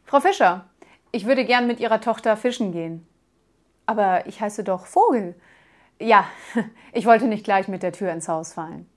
Frau Fischer, ich würde gern mit Ihrer Tochter fischen gehen. Aber ich heiße doch Vogel. Ja, ich wollte nicht gleich mit der Tür ins Haus fallen.